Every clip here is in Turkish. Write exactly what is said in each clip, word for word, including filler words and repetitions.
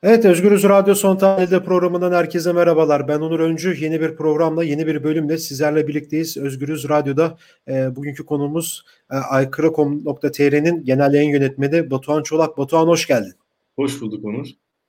Evet, Özgürüz Radyo Son Tahlil'de programından herkese merhabalar. Ben Onur Öncü. Yeni bir programla, yeni bir bölümle sizlerle birlikteyiz. Özgürüz Radyo'da e, bugünkü konuğumuz e, aykırı nokta com nokta tr'nin genel yayın yönetmeni Batuhan Çolak. Batuhan, hoş geldin. Hoş bulduk Onur.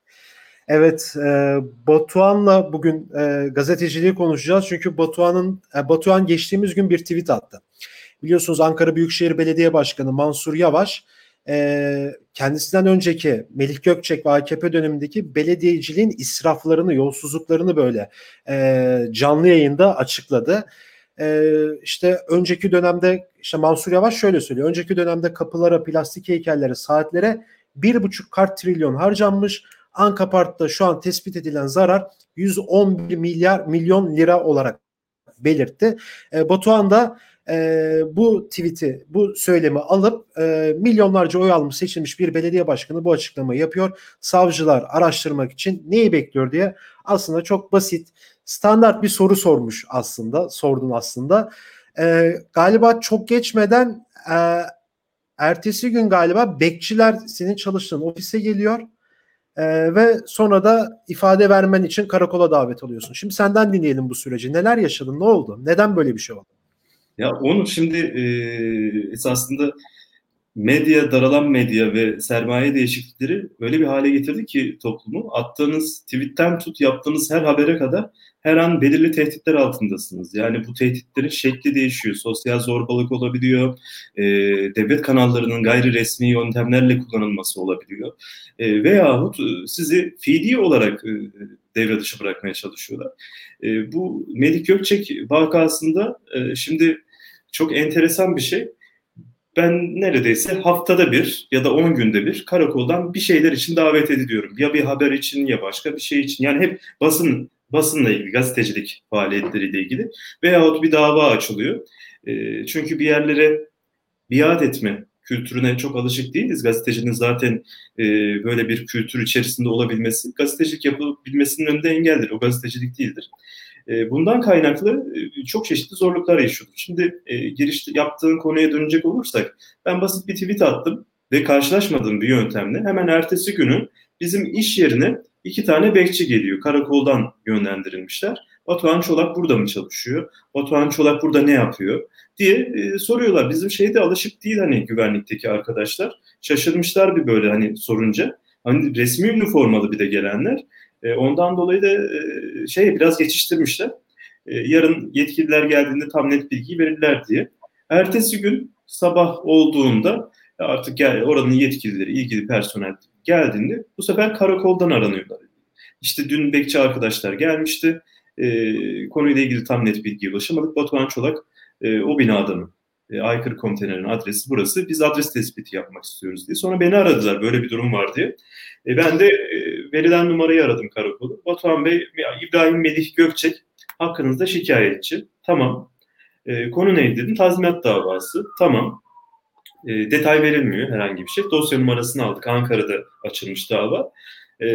Evet, e, Batuhan'la bugün e, gazeteciliği konuşacağız. Çünkü Batuhan'ın e, Batuhan geçtiğimiz gün bir tweet attı. Biliyorsunuz Ankara Büyükşehir Belediye Başkanı Mansur Yavaş e, kendisinden önceki Melih Gökçek ve A K P dönemindeki belediyeciliğin israflarını, yolsuzluklarını böyle e, canlı yayında açıkladı. E, işte önceki dönemde işte Mansur Yavaş şöyle söylüyor. Önceki dönemde kapılara, plastik heykellere, saatlere bir buçuk kart trilyon harcanmış. Ankapart'ta şu an tespit edilen zarar yüz on bir milyar milyon lira olarak belirtti. E, Batuhan da e, bu tweet'i, bu söylemi alıp e, milyonlarca oy almış seçilmiş bir belediye başkanı bu açıklamayı yapıyor. Savcılar araştırmak için neyi bekliyor diye aslında çok basit, standart bir soru sormuş aslında, sordun aslında. E, galiba çok geçmeden e, ertesi gün galiba bekçiler senin çalıştığın ofise geliyor. Ee, ve sonra da ifade vermen için karakola davet alıyorsun. Şimdi senden dinleyelim bu süreci. Neler yaşadın? Ne oldu? Neden böyle bir şey oldu? Ya Onur şimdi e, esasında medya, daralan medya ve sermaye değişiklikleri öyle bir hale getirdi ki toplumu. Attığınız tweetten tut yaptığınız her habere kadar her an belirli tehditler altındasınız. Yani bu tehditlerin şekli değişiyor. Sosyal zorbalık olabiliyor. E, devlet kanallarının gayri resmi yöntemlerle kullanılması olabiliyor. E, veyahut sizi fiili olarak e, devre dışı bırakmaya çalışıyorlar. E, bu Melih Gökçek vakasında e, şimdi çok enteresan bir şey. Ben neredeyse haftada bir ya da on günde bir karakoldan bir şeyler için davet ediliyorum. Ya bir haber için ya başka bir şey için. Yani hep basın basınla ilgili, gazetecilik faaliyetleriyle ilgili veyahut bir dava açılıyor. E, çünkü bir yerlere biat etme kültürüne çok alışık değiliz. Gazetecinin zaten e, böyle bir kültür içerisinde olabilmesi, gazetecilik yapabilmesinin önünde engeldir. O gazetecilik değildir. E, bundan kaynaklı e, çok çeşitli zorluklar yaşıyorduk. Şimdi e, girişte yaptığın konuya dönecek olursak, ben basit bir tweet attım ve karşılaşmadığım bir yöntemle hemen ertesi günü bizim iş yerine iki tane bekçi geliyor. Karakoldan yönlendirilmişler. Batuhan Çolak burada mı çalışıyor? Batuhan Çolak burada ne yapıyor? diye e, soruyorlar. Bizim şeyde alışık değil hani güvenlikteki arkadaşlar. Şaşırmışlar bir böyle hani sorunca. Hani resmi üniformalı bir de gelenler. E, ondan dolayı da e, şey biraz geçiştirmişler. E, yarın yetkililer geldiğinde tam net bilgi verirler diye. Ertesi gün sabah olduğunda artık yani oranın yetkilileri, ilgili personel geldiğinde bu sefer karakoldan aranıyorlar. İşte dün bekçi arkadaşlar gelmişti. E, konuyla ilgili tam net bilgiye ulaşamadık. Batuhan Çolak e, o binada mı? E, aykırı konteynerin adresi burası. Biz adres tespiti yapmak istiyoruz diye. Sonra beni aradılar böyle bir durum var diye. E, ben de e, verilen numarayı aradım karakolu. Batuhan Bey, İbrahim Melih Gökçek hakkınızda şikayetçi. Tamam. E, konu neydi dedim. Tazminat davası. Tamam. E, detay verilmiyor herhangi bir şey. Dosya numarasını aldık. Ankara'da açılmış dava. E,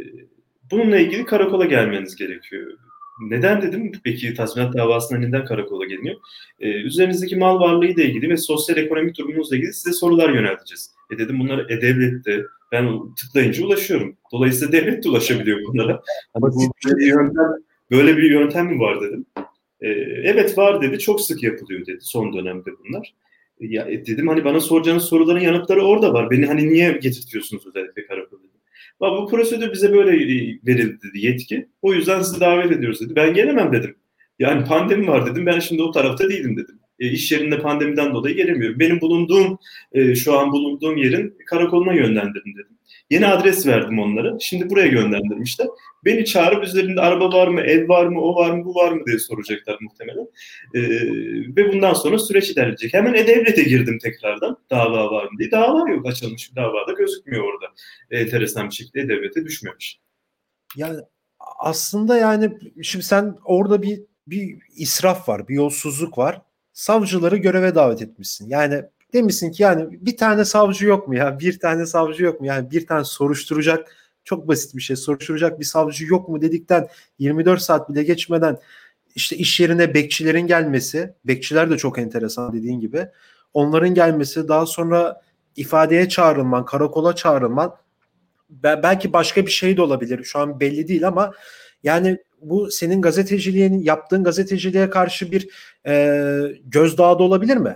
bununla ilgili karakola gelmeniz gerekiyor. Neden dedim? Peki tazminat davasına neden karakola geliniyor? Ee, üzerinizdeki mal varlığı ile ilgili ve sosyal ekonomik durumunuzla ilgili size sorular yönelteceğiz. E dedim bunları E-Devlet'te ben tıklayınca ulaşıyorum. Dolayısıyla devlet de ulaşabiliyor bunlara. Hani bu böyle bir yöntem, böyle bir yöntem mi var dedim. Ee, evet var dedi. Çok sık yapılıyor dedi son dönemde bunlar. Ya e, dedim hani bana soracağınız soruların yanıtları orada var. Beni hani niye getirtiyorsunuz özellikle karakola? Bu prosedür bize böyle verildi dedi yetki. O yüzden sizi davet ediyoruz dedi. Ben gelemem dedim. Yani pandemi var dedim. Ben şimdi o tarafta değilim dedim. E, iş yerinde pandemiden dolayı gelemiyorum. Benim bulunduğum, e, şu an bulunduğum yerin karakoluna yönlendirdim dedim. Yeni adres verdim onlara. Şimdi buraya yönlendirmişler. Beni çağırıp üzerinde araba var mı, ev var mı, o var mı, bu var mı diye soracaklar muhtemelen. E, ve bundan sonra süreç ilerleyecek. Hemen E-Devlet'e girdim tekrardan. Dava var mı diye. Dava yok. Açılmış bir davada gözükmüyor orada. Enteresan bir şekilde devlete düşmemiş. Yani aslında yani şimdi sen orada bir bir israf var, bir yolsuzluk var. Savcıları göreve davet etmişsin. Yani demişsin ki yani bir tane savcı yok mu ya? Bir tane savcı yok mu? Yani bir tane soruşturacak, çok basit bir şey, soruşturacak bir savcı yok mu dedikten yirmi dört saat bile geçmeden işte iş yerine bekçilerin gelmesi, bekçiler de çok enteresan dediğin gibi. Onların gelmesi, daha sonra ifadeye çağrılman, karakola çağrılman, belki başka bir şey de olabilir. Şu an belli değil ama yani bu senin gazeteciliğin yaptığın gazeteciliğe karşı bir e, gözdağı da olabilir mi?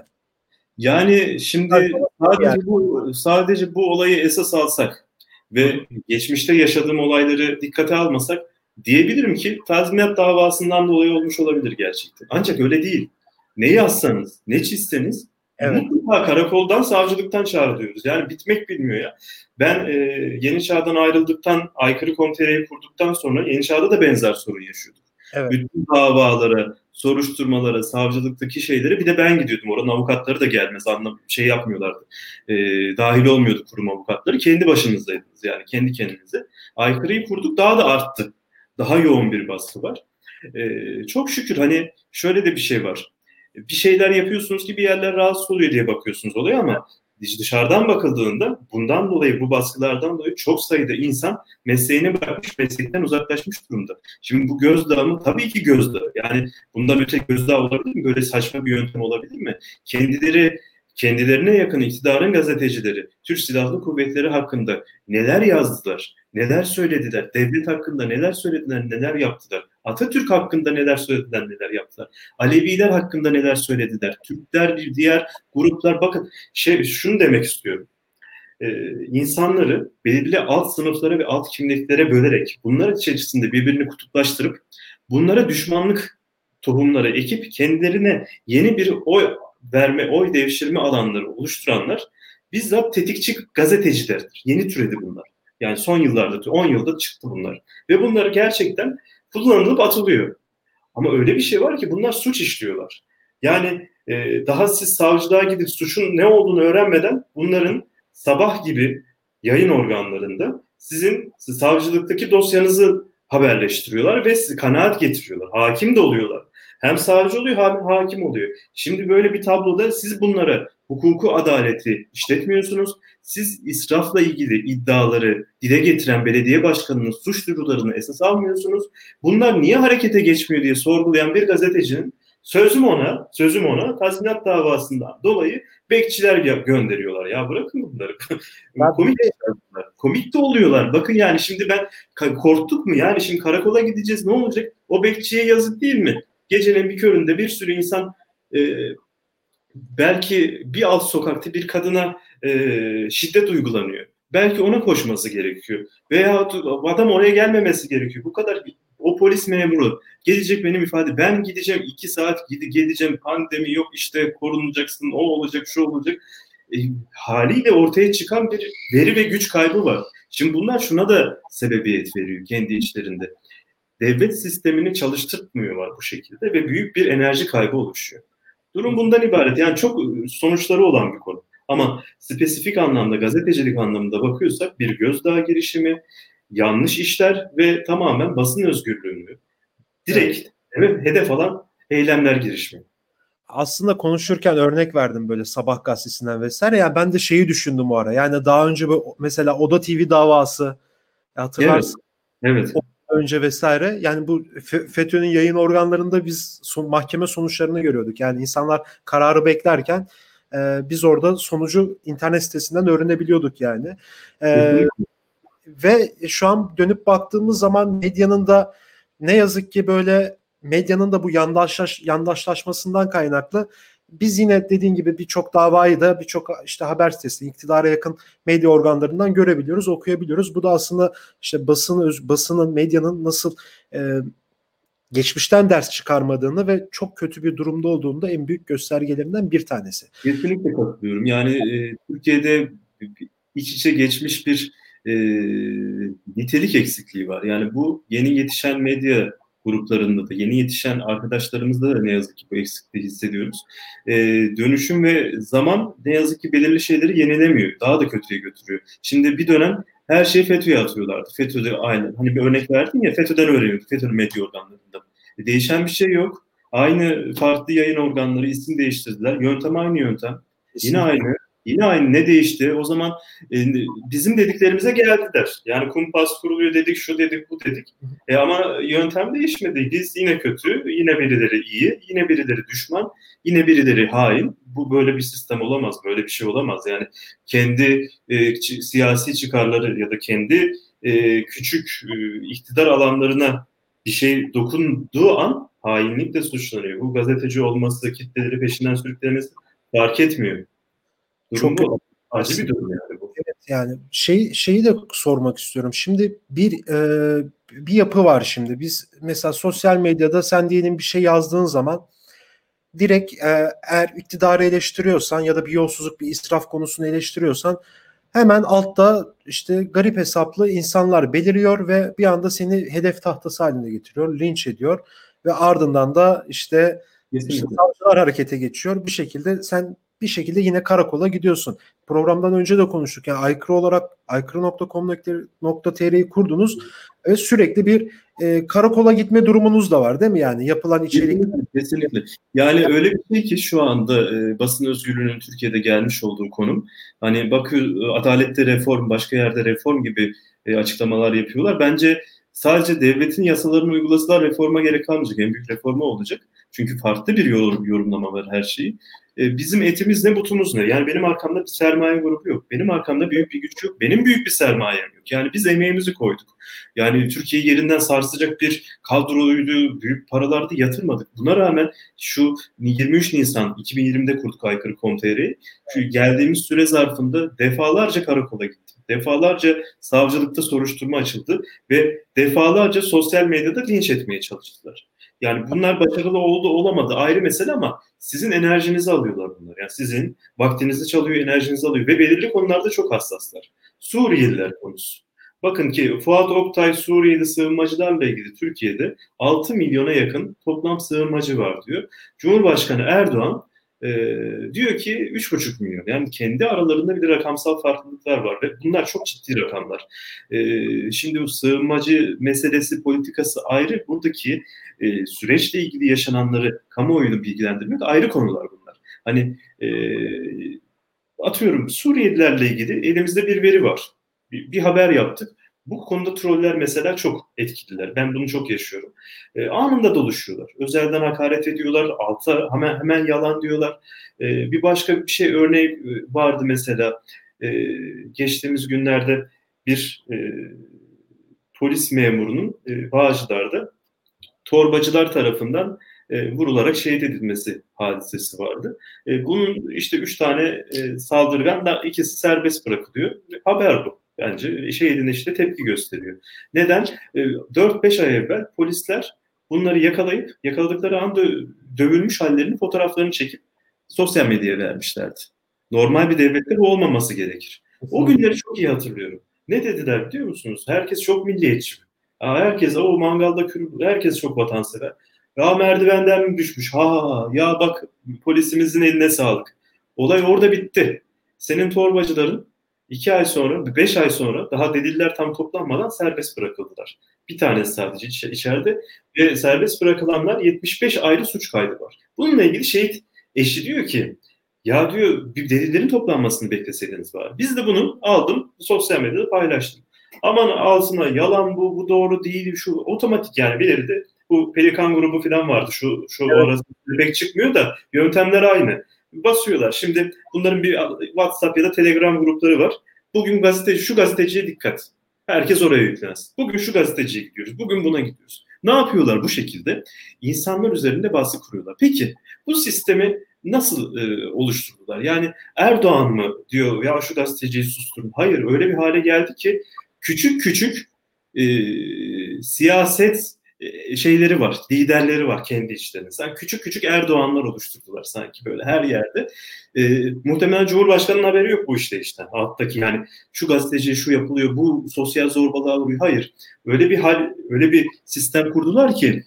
Yani şimdi sadece bu sadece bu olayı esas alsak ve geçmişte yaşadığım olayları dikkate almasak diyebilirim ki tazminat davasından dolayı olmuş olabilir gerçekten. Ancak öyle değil. Ne yazsanız, ne çizseniz evet, mutlaka karakoldan, savcılıktan çağrılıyoruz. Yani bitmek bilmiyor ya. Ben e, Yeni Çağ'dan ayrıldıktan, aykırı komiteyi kurduktan sonra Yeni Çağ'da da benzer sorun yaşıyorduk. Evet. Bütün davalara, soruşturmalara, savcılıktaki şeyleri bir de ben gidiyordum. Oranın avukatları da gelmez, anlam şey yapmıyorlardı. E, dahil olmuyordu kurum avukatları. Kendi başınızdaydınız yani, kendi kendinize. Aykırıyı kurduk, daha da arttı. Daha yoğun bir baskı var. E, çok şükür hani şöyle de bir şey var. Bir şeyler yapıyorsunuz ki bir yerler rahatsız oluyor diye bakıyorsunuz olaya ama dışarıdan bakıldığında bundan dolayı, bu baskılardan dolayı çok sayıda insan mesleğini bırakmış, meslekten uzaklaşmış durumda. Şimdi bu gözdağı mı? Tabii ki gözdağı. Yani bunda bir tek gözdağı olabilir mi? Böyle saçma bir yöntem olabilir mi? Kendileri kendilerine yakın iktidarın gazetecileri Türk Silahlı Kuvvetleri hakkında neler yazdılar, neler söylediler, devlet hakkında neler söylediler, neler yaptılar, Atatürk hakkında neler söylediler, neler yaptılar, Aleviler hakkında neler söylediler, Türkler, bir diğer gruplar, bakın şey, şunu demek istiyorum. Ee, insanları belirli alt sınıflara ve alt kimliklere bölerek bunlar içerisinde birbirini kutuplaştırıp bunlara düşmanlık tohumları ekip kendilerine yeni bir oy verme, oy devşirme alanları oluşturanlar bizzat tetikçi gazetecilerdir. Yeni türedi bunlar. Yani son yıllarda, on yılda çıktı bunlar. Ve bunları gerçekten kullanılıp atılıyor. Ama öyle bir şey var ki bunlar suç işliyorlar. Yani e, daha siz savcılığa gidip suçun ne olduğunu öğrenmeden bunların sabah gibi yayın organlarında sizin siz savcılıktaki dosyanızı haberleştiriyorlar ve sizi kanaat getiriyorlar. Hakim de oluyorlar. Hem savcı oluyor hem hakim oluyor. Şimdi böyle bir tabloda siz bunlara hukuku, adaleti işletmiyorsunuz. Siz israfla ilgili iddiaları dile getiren belediye başkanının suç duyurularını esas almıyorsunuz. Bunlar niye harekete geçmiyor diye sorgulayan bir gazetecinin sözüm ona, sözüm ona tazminat davasından dolayı bekçiler gönderiyorlar. Ya bırakın bunları. Komik, komik de oluyorlar. Bakın yani şimdi ben korktuk mu? Yani şimdi karakola gideceğiz, ne olacak? O bekçiye yazık değil mi? Gecenin bir köründe bir sürü insan e, belki bir alt sokakta bir kadına e, şiddet uygulanıyor. Belki ona koşması gerekiyor. Veya adam oraya gelmemesi gerekiyor. Bu kadar, o polis memuru gelecek benim ifade. Ben gideceğim iki saat gidi geleceğim. Pandemi yok işte, korunacaksın, o olacak, şu olacak. E, haliyle ortaya çıkan bir veri ve güç kaybı var. Şimdi bunlar şuna da sebebiyet veriyor kendi içlerinde. Devlet sistemini çalıştırmıyorlar bu şekilde ve büyük bir enerji kaybı oluşuyor. Durum bundan ibaret. Yani çok sonuçları olan bir konu. Ama spesifik anlamda, gazetecilik anlamında bakıyorsak bir gözdağı girişimi, yanlış işler ve tamamen basın özgürlüğünü direkt evet, hedef alan eylemler girişimi. Aslında konuşurken örnek verdim böyle Sabah gazetesinden vesaire. Yani ben de şeyi düşündüm o ara. Yani daha önce bu, mesela Oda T V davası, hatırlarsın. Evet. Evet. Önce vesaire. Yani bu FETÖ'nün yayın organlarında biz son, mahkeme sonuçlarını görüyorduk. Yani insanlar kararı beklerken e, biz orada sonucu internet sitesinden öğrenebiliyorduk yani. E, ve şu an dönüp baktığımız zaman medyanın da ne yazık ki böyle medyanın da bu yandaşlaş, yandaşlaşmasından kaynaklı biz yine dediğin gibi birçok davayı da birçok işte haber sitesi, iktidara yakın medya organlarından görebiliyoruz, okuyabiliyoruz. Bu da aslında işte basın, basının, medyanın nasıl e, geçmişten ders çıkarmadığını ve çok kötü bir durumda olduğunu da en büyük göstergelerinden bir tanesi. Kesinlikle katılıyorum. Yani e, Türkiye'de iç içe geçmiş bir e, nitelik eksikliği var. Yani bu yeni yetişen medya gruplarında da, yeni yetişen arkadaşlarımızda da ne yazık ki bu eksikliği hissediyoruz. E, dönüşüm ve zaman ne yazık ki belirli şeyleri yenilemiyor. Daha da kötüye götürüyor. Şimdi bir dönem her şeyi FETÖ'ye atıyorlardı. FETÖ'de aynen. Hani bir örnek verdin ya, FETÖ'den öğreniyorduk. FETÖ'nün medya organlarında. E, değişen bir şey yok. Aynı farklı yayın organları isim değiştirdiler. Yöntem aynı yöntem. Kesinlikle. Yine aynı. Yine aynı, ne değişti? O zaman e, bizim dediklerimize geldiler. Yani kumpas kuruluyor dedik, şu dedik, bu dedik. E, ama yöntem değişmedi. Biz yine kötü, yine birileri iyi, yine birileri düşman, yine birileri hain. Bu böyle bir sistem olamaz, böyle bir şey olamaz. Yani kendi e, ç- siyasi çıkarları ya da kendi e, küçük e, iktidar alanlarına bir şey dokunduğu an hainlikle suçlanıyor. Bu gazeteci olması, kitleleri peşinden sürüklemesi fark etmiyor. Durum Çok bu. Acı bir aslında. durum yani bu. Evet, yani şey şeyi de sormak istiyorum. Şimdi bir e, bir yapı var şimdi. Biz mesela sosyal medyada sen diyelim bir şey yazdığın zaman direkt e, eğer iktidarı eleştiriyorsan ya da bir yolsuzluk, bir israf konusunu eleştiriyorsan hemen altta işte garip hesaplı insanlar beliriyor ve bir anda seni hedef tahtası haline getiriyor, linç ediyor ve ardından da işte işte Kesinlikle. savcılar harekete geçiyor. Bir şekilde sen bir şekilde yine karakola gidiyorsun. Programdan önce de konuştuk. Yani aykırı olarak aykırı nokta com nokta tr'yi kurdunuz ve sürekli bir e, karakola gitme durumunuz da var değil mi? Yani yapılan içerik. Kesinlikle, kesinlikle. Yani öyle bir şey ki şu anda e, basın özgürlüğünün Türkiye'de gelmiş olduğu konum. Hani bakıyor, adalette reform, başka yerde reform gibi e, açıklamalar yapıyorlar. Bence sadece devletin yasalarını uygulasalar reforma gerek kalmayacak. En büyük reforma olacak. Çünkü farklı bir yorum, yorumlama var her şeyi. E, bizim etimiz ne, butumuz ne? Yani benim arkamda bir sermaye grubu yok. Benim arkamda büyük bir güç yok. Benim büyük bir sermayem yok. Yani biz emeğimizi koyduk. Yani Türkiye'yi yerinden sarsacak bir kadroydu, büyük paralar da yatırmadık. Buna rağmen şu yirmi üç Nisan iki bin yirmide kurduk aykırı nokta com nokta tr'yi. Şu geldiğimiz süre zarfında defalarca karakola gittim. Defalarca savcılıkta soruşturma açıldı ve defalarca sosyal medyada linç etmeye çalıştılar. Yani bunlar başarılı oldu olamadı ayrı mesele ama sizin enerjinizi alıyorlar bunlar. Yani sizin vaktinizi çalıyor, enerjinizi alıyor ve belirli konularda çok hassaslar. Suriyeliler konusu. Bakın ki Fuat Oktay Suriyeli sığınmacılarla ilgili Türkiye'de altı milyona yakın toplam sığınmacı var diyor. Cumhurbaşkanı Erdoğan e, diyor ki üç buçuk milyon. Yani kendi aralarında bir de rakamsal farklılıklar var ve bunlar çok ciddi rakamlar. E, şimdi bu sığınmacı meselesi, politikası ayrı. Buradaki e, süreçle ilgili yaşananları kamuoyunu bilgilendirmek ayrı konular bunlar. Hani e, atıyorum Suriyelilerle ilgili elimizde bir veri var. Bir, bir haber yaptık. Bu konuda troller mesela çok etkililer. Ben bunu çok yaşıyorum. E, anında doluşuyorlar. Özelden hakaret ediyorlar. Alta hemen hemen yalan diyorlar. E, bir başka bir şey örneği vardı mesela. E, geçtiğimiz günlerde bir e, polis memurunun e, Bağcılar'da torbacılar tarafından e, vurularak şehit edilmesi hadisesi vardı. E, bunun işte üç tane e, saldırgan da ikisi serbest bırakılıyor. Haber bu. Bence şehidin işte tepki gösteriyor. Neden? E, dört beş ay evvel polisler bunları yakalayıp yakaladıkları anda dövülmüş hallerinin fotoğraflarını çekip sosyal medyaya vermişlerdi. Normal bir devlette bu olmaması gerekir. O günleri çok iyi hatırlıyorum. Ne dediler biliyor musunuz? Herkes çok milliyetçi. Herkes o mangalda kürü, herkes çok vatansever. Ya merdivenden mi düşmüş? Ha ya bak polisimizin eline sağlık. Olay orada bitti. Senin torbacıların iki ay sonra, beş ay sonra daha deliller tam toplanmadan serbest bırakıldılar. Bir tanesi sadece iç- içeride ve serbest bırakılanlar yetmiş beş ayrı suç kaydı var. Bununla ilgili şehit eşi diyor ki ya diyor bir delillerin toplanmasını bekleseydiniz var. Biz de bunu aldım sosyal medyada paylaştım. Aman altına yalan bu, bu doğru değil, şu otomatik yani bir elde bu Pelikan grubu falan vardı. Şu şu Evet. orası pek çıkmıyor da yöntemler aynı. Basıyorlar. Şimdi bunların bir WhatsApp ya da Telegram grupları var. Bugün gazeteci şu gazeteciye dikkat. Herkes oraya yüklensin. Bugün şu gazeteciye gidiyoruz. Bugün buna gidiyoruz. Ne yapıyorlar bu şekilde? İnsanlar üzerinde baskı kuruyorlar. Peki bu sistemi nasıl e, oluşturdular? Yani Erdoğan mı diyor ya şu gazeteciyi susturun. Hayır öyle bir hale geldi ki küçük küçük e, siyaset e, şeyleri var, liderleri var kendi içlerinde. Sen küçük küçük Erdoğanlar oluşturdular sanki böyle her yerde. E, muhtemelen Cumhurbaşkanı'nın haberi yok bu işte işte. Alttaki yani şu gazeteci şu yapılıyor, bu sosyal zorbalığa uğruyor. Hayır. Öyle bir hal, öyle bir sistem kurdular ki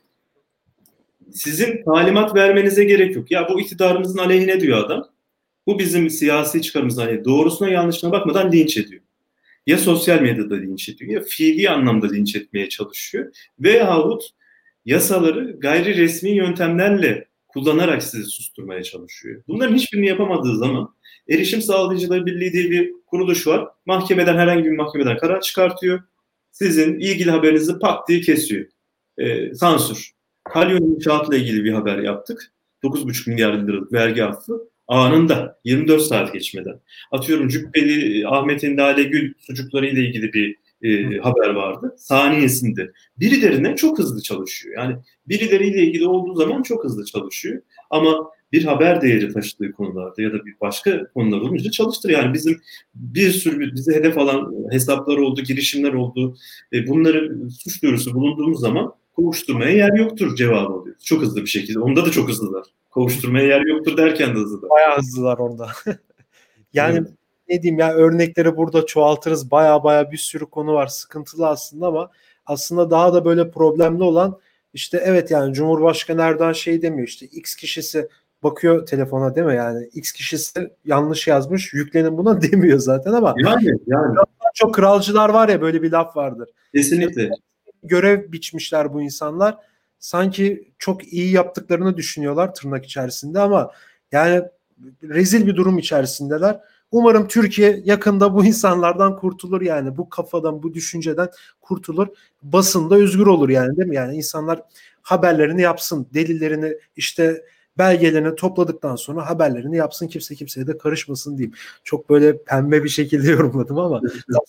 sizin talimat vermenize gerek yok. Ya bu iktidarımızın aleyhine diyor adam. Bu bizim siyasi çıkarımızın aleyhine. Doğrusuna yanlışına bakmadan linç ediyor. Ya sosyal medyada linç ediyor ya fiili anlamda linç etmeye çalışıyor. Veyahut yasaları gayri resmi yöntemlerle kullanarak sizi susturmaya çalışıyor. Bunların hiçbirini yapamadığı zaman Erişim Sağlayıcılar Birliği diye bir kuruluş var. Mahkemeden, herhangi bir mahkemeden karar çıkartıyor. Sizin ilgili haberinizi pat diye kesiyor. Ee, sansür. Kalyon İnşaat'la ilgili bir haber yaptık. dokuz buçuk milyar liralık vergi affı anında, yirmi dört saat geçmeden. Atıyorum Cübbeli Ahmet'in Lale Gül sucukları ile ilgili bir e, haber vardı. Saniyesinde. Birilerine çok hızlı çalışıyor. Yani birileriyle ilgili olduğu zaman çok hızlı çalışıyor. Ama bir haber değeri taşıdığı konularda ya da bir başka konular olunca çalıştır. Yani bizim bir sürü bize hedef alan hesaplar oldu, girişimler oldu. E, bunları suç duyurusu bulunduğumuz zaman kovuşturmaya yer yoktur cevabı oluyor. Çok hızlı bir şekilde. Onda da çok hızlılar. Kovuşturmaya yer yoktur derken de hızlılar. Bayağı hızlılar orada. Yani evet. Ne diyeyim ya, örnekleri burada çoğaltırız. Bayağı bayağı bir sürü konu var. Sıkıntılı aslında ama aslında daha da böyle problemli olan işte evet yani Cumhurbaşkanı Erdoğan şey demiyor, işte X kişisi bakıyor telefona değil mi, yani X kişisi yanlış yazmış yüklenin buna demiyor zaten ama yani, yani. çok kralcılar var ya, böyle bir laf vardır. Kesinlikle. İşte görev biçmişler bu insanlar. Sanki çok iyi yaptıklarını düşünüyorlar tırnak içerisinde ama yani rezil bir durum içerisindeler. Umarım Türkiye yakında bu insanlardan kurtulur, yani bu kafadan, bu düşünceden kurtulur. Basında özgür olur yani, değil mi? Yani insanlar haberlerini yapsın, delillerini işte belgelerini topladıktan sonra haberlerini yapsın, kimse kimseye de karışmasın diyeyim. Çok böyle pembe bir şekilde yorumladım ama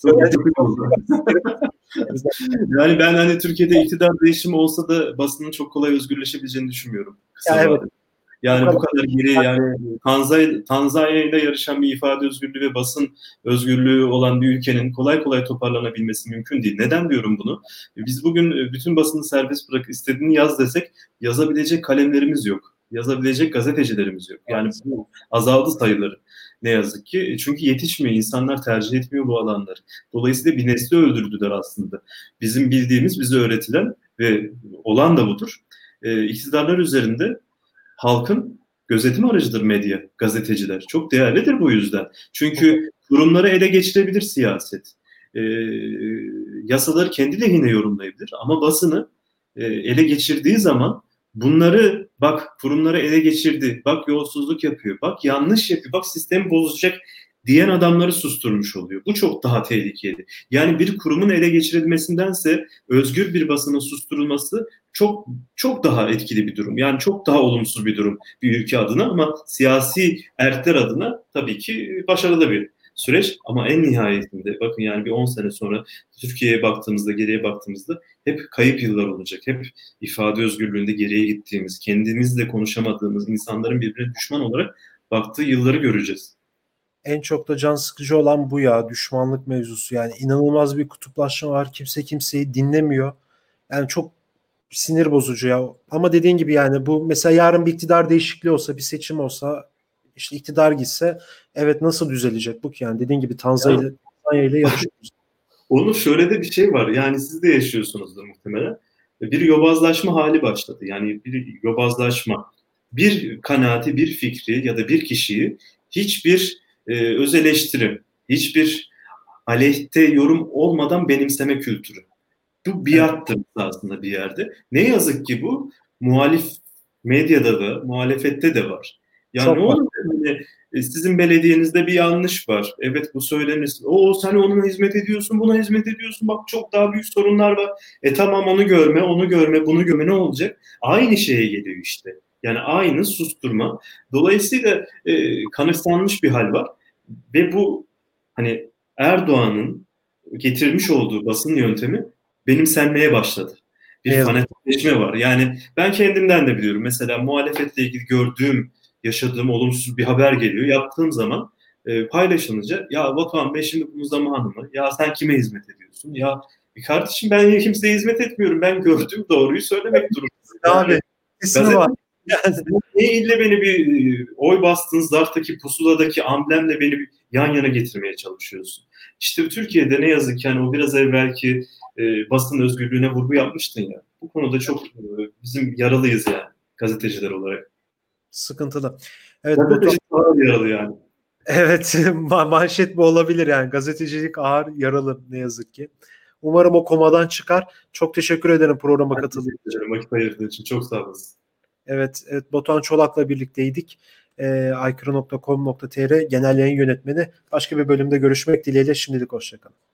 yani ben hani Türkiye'de iktidar değişimi olsa da basının çok kolay özgürleşebileceğini düşünmüyorum. Ya evet. Yani bu kadar geri, yani Tanzanya, Tanzanya ile yarışan bir ifade özgürlüğü ve basın özgürlüğü olan bir ülkenin kolay kolay toparlanabilmesi mümkün değil. Neden diyorum bunu? Biz bugün bütün basını serbest bırak, istediğini yaz desek yazabilecek kalemlerimiz yok. Yazabilecek gazetecilerimiz yok. Yani bu azaldı sayıları. Ne yazık ki. Çünkü yetişmiyor. İnsanlar tercih etmiyor bu alanları. Dolayısıyla bir nesli öldürdüler aslında. Bizim bildiğimiz, bize öğretilen ve olan da budur. E, iktidarlar üzerinde halkın gözetim aracıdır medya, gazeteciler. Çok değerlidir bu yüzden. Çünkü kurumları ele geçirebilir siyaset. E, yasaları kendi lehine yorumlayabilir. Ama basını e, ele geçirdiği zaman bunları, bak kurumları ele geçirdi, bak yolsuzluk yapıyor, bak yanlış yapıyor, bak sistemi bozacak diyen adamları susturmuş oluyor. Bu çok daha tehlikeli. Yani bir kurumun ele geçirilmesindense özgür bir basının susturulması çok çok daha etkili bir durum. Yani çok daha olumsuz bir durum bir ülke adına ama siyasi erkler adına tabii ki başarılı bir süreç. Ama en nihayetinde bakın yani bir on sene sonra Türkiye'ye baktığımızda, geriye baktığımızda hep kayıp yıllar olacak. Hep ifade özgürlüğünde geriye gittiğimiz, kendimizle konuşamadığımız insanların birbirine düşman olarak baktığı yılları göreceğiz. En çok da can sıkıcı olan bu ya, düşmanlık mevzusu. Yani inanılmaz bir kutuplaşma var. Kimse kimseyi dinlemiyor. Yani çok sinir bozucu ya. Ama dediğin gibi yani bu mesela yarın bir iktidar değişikliği olsa, bir seçim olsa, işte iktidar gitse evet nasıl düzelecek bu ki yani, dediğin gibi Tanzanya ile Tanzanya ile yarışıyoruz. Onun şöyle de bir şey var. Yani siz de yaşıyorsunuzdur muhtemelen. Bir yobazlaşma hali başladı. Yani bir yobazlaşma. Bir kanaati, bir fikri ya da bir kişiyi hiçbir e, öz eleştiri, hiçbir aleyhte yorum olmadan benimseme kültürü. Bu biattır aslında bir yerde. Ne yazık ki bu muhalif medyada da, muhalefette de var. Yani Çok ne olur yani, sizin belediyenizde bir yanlış var. Evet bu söylenir. O sen ona hizmet ediyorsun, buna hizmet ediyorsun. Bak çok daha büyük sorunlar var. E tamam onu görme, onu görme, bunu görme ne olacak? Aynı şeye geliyor işte. Yani aynı susturma. Dolayısıyla e, kanıksanmış bir hal var. Ve bu hani Erdoğan'ın getirmiş olduğu basın yöntemi benimsenmeye başladı. Bir evet. fanatikleşme var. Yani ben kendimden de biliyorum. Mesela muhalefetle ilgili gördüğüm, yaşadığım olumsuz bir haber geliyor. Yaptığım zaman e, paylaşılınca ya Batuhan Bey şimdi bunun zamanı mı? Ya sen kime hizmet ediyorsun? Ya kardeşim ben kimseye hizmet etmiyorum. Ben gördüğüm doğruyu söylemek durumundayım. Abi kesin var. Yani ne ille beni bir oy bastığın zarftaki pusuladaki amblemle beni bir yan yana getirmeye çalışıyorsun. İşte Türkiye'de ne yazık ki yani o biraz evvelki e, basın özgürlüğüne vurgu yapmıştın ya. Bu konuda çok e, bizim yaralıyız yani gazeteciler olarak. Sıkıntılı. Evet, gazetecilik bu ağır yaralı yani. Evet manşet bu olabilir yani, gazetecilik ağır yaralı ne yazık ki. Umarım o komadan çıkar. Çok teşekkür ederim programa katıldığın için. Vakit ayırdığın için çok sağ olasın. Evet, evet Batuhan Çolak'la birlikteydik. E, aykırı nokta com nokta tr genel yayın yönetmeni. Başka bir bölümde görüşmek dileğiyle şimdilik hoşçakalın.